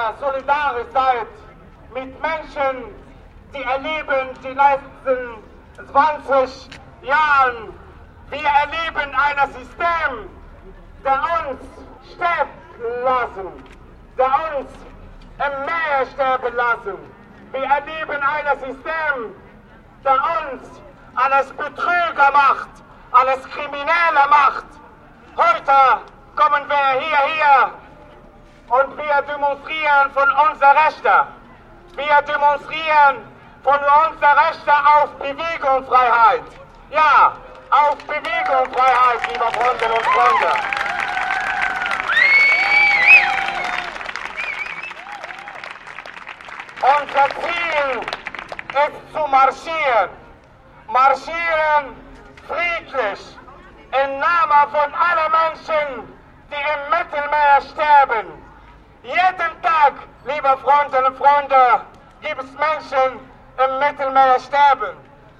ihr solidarisch seid mit Menschen, die erleben die letzten 20 Jahren. Wir erleben ein System, der uns sterben lassen, der uns im Meer sterben lassen. Wir erleben ein System, der uns alles Betrüger macht, alles Kriminelle macht. Heute kommen wir hierher und wir demonstrieren von unseren Rechten. Wir demonstrieren von unseren Rechten auf Bewegungsfreiheit. Ja, auf Bewegungsfreiheit, liebe Freundinnen und Freunde. Unser Ziel ist zu marschieren. Marschieren friedlich im Namen von allen Menschen, die im Mittelmeer sterben. Jeden Tag, liebe Freundinnen und Freunde, gibt es Menschen im Mittelmeer sterben.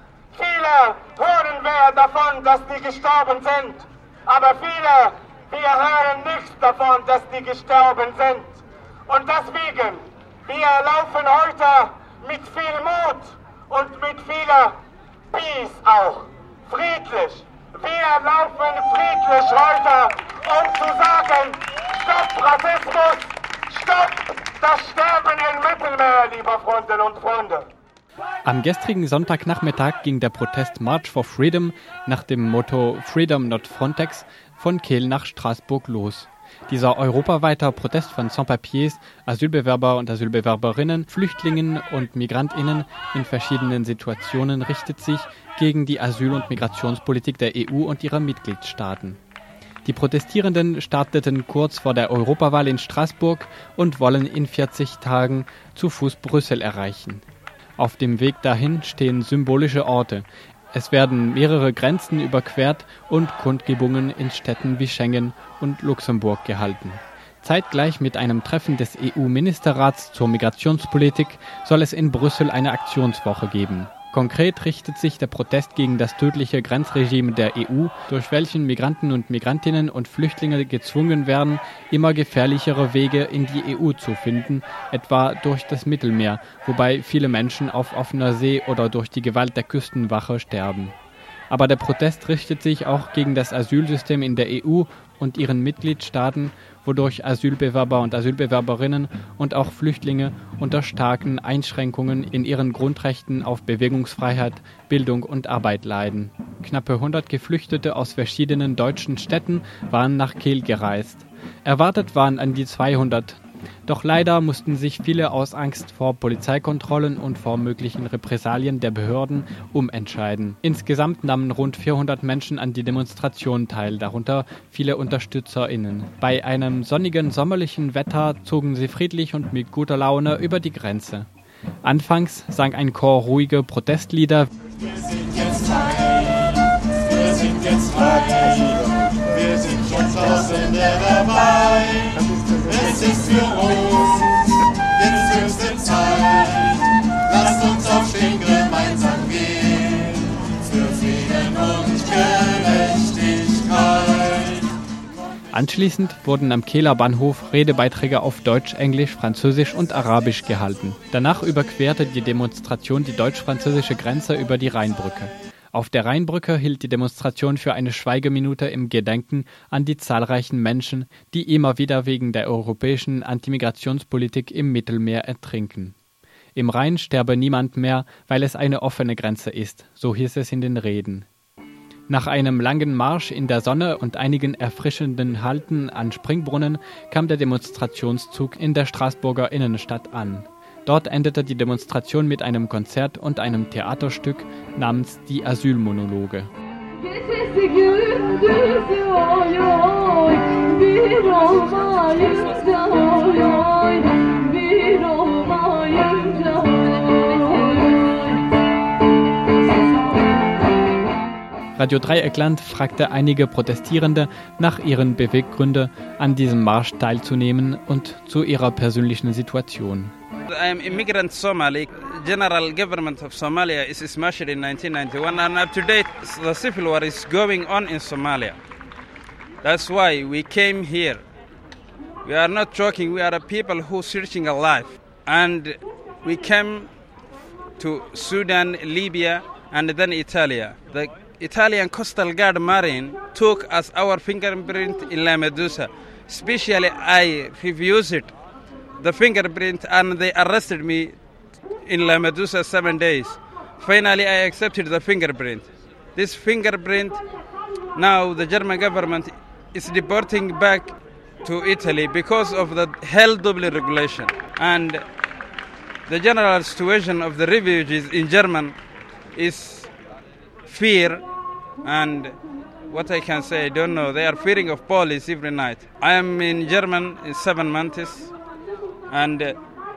Viele hören wir davon, dass die gestorben sind, aber viele, wir hören nichts davon, dass die gestorben sind. Und deswegen, wir laufen heute mit viel Mut und mit viel Peace auch, friedlich. Wir laufen friedlich heute, um zu sagen, stopp Rassismus, stopp das Sterben im Mittelmeer, liebe Freundinnen und Freunde. Am gestrigen Sonntagnachmittag ging der Protest March for Freedom nach dem Motto Freedom not Frontex von Kehl nach Straßburg los. Dieser europaweite Protest von Sans-Papiers, Asylbewerber und Asylbewerberinnen, Flüchtlingen und MigrantInnen in verschiedenen Situationen richtet sich gegen die Asyl- und Migrationspolitik der EU und ihrer Mitgliedstaaten. Die Protestierenden starteten kurz vor der Europawahl in Straßburg und wollen in 40 Tagen zu Fuß Brüssel erreichen. Auf dem Weg dahin stehen symbolische Orte. Es werden mehrere Grenzen überquert und Kundgebungen in Städten wie Schengen und Luxemburg gehalten. Zeitgleich mit einem Treffen des EU-Ministerrats zur Migrationspolitik soll es in Brüssel eine Aktionswoche geben. Konkret richtet sich der Protest gegen das tödliche Grenzregime der EU, durch welchen Migranten und Migrantinnen und Flüchtlinge gezwungen werden, immer gefährlichere Wege in die EU zu finden, etwa durch das Mittelmeer, wobei viele Menschen auf offener See oder durch die Gewalt der Küstenwache sterben. Aber der Protest richtet sich auch gegen das Asylsystem in der EU und ihren Mitgliedstaaten, wodurch Asylbewerber und Asylbewerberinnen und auch Flüchtlinge unter starken Einschränkungen in ihren Grundrechten auf Bewegungsfreiheit, Bildung und Arbeit leiden. Knappe 100 Geflüchtete aus verschiedenen deutschen Städten waren nach Kehl gereist. Erwartet waren an die 200. Doch leider mussten sich viele aus Angst vor Polizeikontrollen und vor möglichen Repressalien der Behörden umentscheiden. Insgesamt nahmen rund 400 Menschen an die Demonstration teil, darunter viele UnterstützerInnen. Bei einem sonnigen sommerlichen Wetter zogen sie friedlich und mit guter Laune über die Grenze. Anfangs sang ein Chor ruhige Protestlieder. Wir sind jetzt frei, wir sind jetzt frei, wir sind schon tausende dabei. Es ist für uns jetzt höchste Zeit. Lasst uns aufstehen, gemeinsam gehen für Frieden und Gerechtigkeit. Anschließend wurden am Kehler Bahnhof Redebeiträge auf Deutsch, Englisch, Französisch und Arabisch gehalten. Danach überquerte die Demonstration die deutsch-französische Grenze über die Rheinbrücke. Auf der Rheinbrücke hielt die Demonstration für eine Schweigeminute im Gedenken an die zahlreichen Menschen, die immer wieder wegen der europäischen Antimigrationspolitik im Mittelmeer ertrinken. Im Rhein sterbe niemand mehr, weil es eine offene Grenze ist, so hieß es in den Reden. Nach einem langen Marsch in der Sonne und einigen erfrischenden Halten an Springbrunnen kam der Demonstrationszug in der Straßburger Innenstadt an. Dort endete die Demonstration mit einem Konzert und einem Theaterstück namens Die Asylmonologe. Radio Dreieckland fragte einige Protestierende nach ihren Beweggründen, an diesem Marsch teilzunehmen und zu ihrer persönlichen Situation. I am immigrant Somali. General government of Somalia is smashed in 1991 and up to date the civil war is going on in Somalia. That's why we came here. We are not joking. We are a people who searching a life. And we came to Sudan, Libya, and then Italy. The Italian Coastal Guard Marine took us our fingerprint in Lampedusa. Especially, I refused the fingerprint, and they arrested me in Lampedusa 7 days. Finally, I accepted the fingerprint. This fingerprint, now the German government is deporting back to Italy because of the hell double regulation. And the general situation of the refugees in Germany is fear, and what I can say, I don't know. They are fearing of police every night. I am in Germany in 7 months, and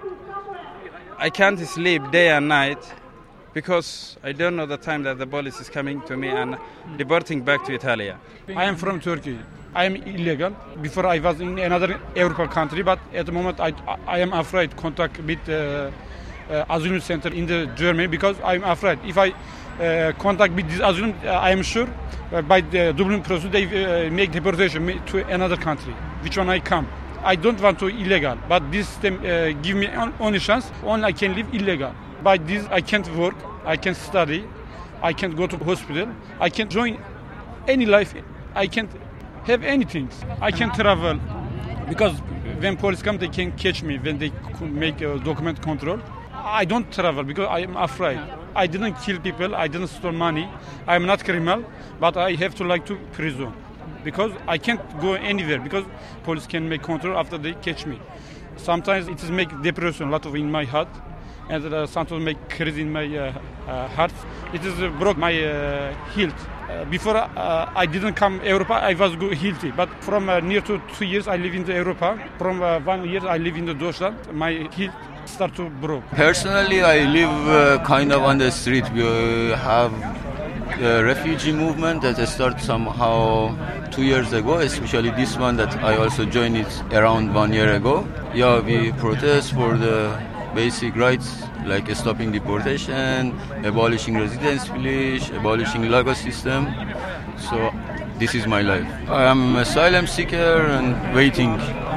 I can't sleep day and night because I don't know the time that the police is coming to me and deporting back to Italy. I am from Turkey. I am illegal. Before I was in another European country, but at the moment I am afraid contact with asylum center in the Germany because I am afraid. If I contact with this asylum, I am sure by the Dublin process they make deportation to another country, which one I come. I don't want to illegal, but this system give me only chance. Only I can live illegal. By this I can't work, I can't study, I can't go to hospital, I can't join any life, I can't have anything. I can't travel because when police come they can catch me when they make a document control. I don't travel because I am afraid. I didn't kill people, I didn't steal money, I am not criminal, but I have to to prison because I can't go anywhere because police can make control after they catch me. Sometimes it is make depression a lot of in my heart, and sometimes make crazy in my heart. It is broke my health. Before I didn't come Europe, I was healthy. But from near to 2 years, I live in the Europe. From 1 year, I live in the Deutschland. My health start to broke. Personally, I live kind of on the street. We have the refugee movement that started somehow 2 years ago, especially this one that I also joined it around 1 year ago. Yeah, we protest for the basic rights like stopping deportation, abolishing residence village, abolishing legal system. So this is my life. I am an asylum seeker and waiting.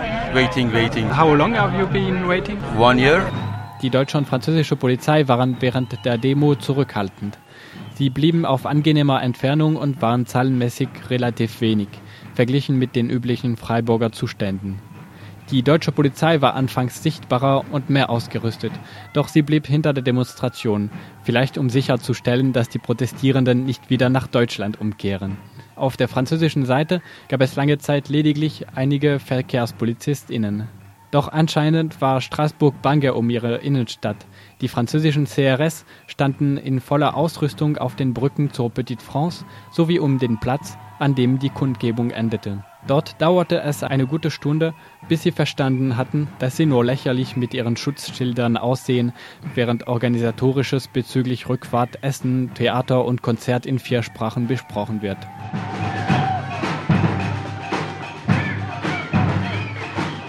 How long have you been waiting? 1 year. Die deutsche und französische Polizei waren während der Demo zurückhaltend. Sie blieben auf angenehmer Entfernung und waren zahlenmäßig relativ wenig, verglichen mit den üblichen Freiburger Zuständen. Die deutsche Polizei war anfangs sichtbarer und mehr ausgerüstet, doch sie blieb hinter der Demonstration, vielleicht um sicherzustellen, dass die Protestierenden nicht wieder nach Deutschland umkehren. Auf der französischen Seite gab es lange Zeit lediglich einige VerkehrspolizistInnen. Doch anscheinend war Straßburg bange um ihre Innenstadt. Die französischen CRS standen in voller Ausrüstung auf den Brücken zur Petite France sowie um den Platz, an dem die Kundgebung endete. Dort dauerte es eine gute Stunde, bis sie verstanden hatten, dass sie nur lächerlich mit ihren Schutzschildern aussehen, während Organisatorisches bezüglich Rückfahrt, Essen, Theater und Konzert in 4 Sprachen besprochen wird.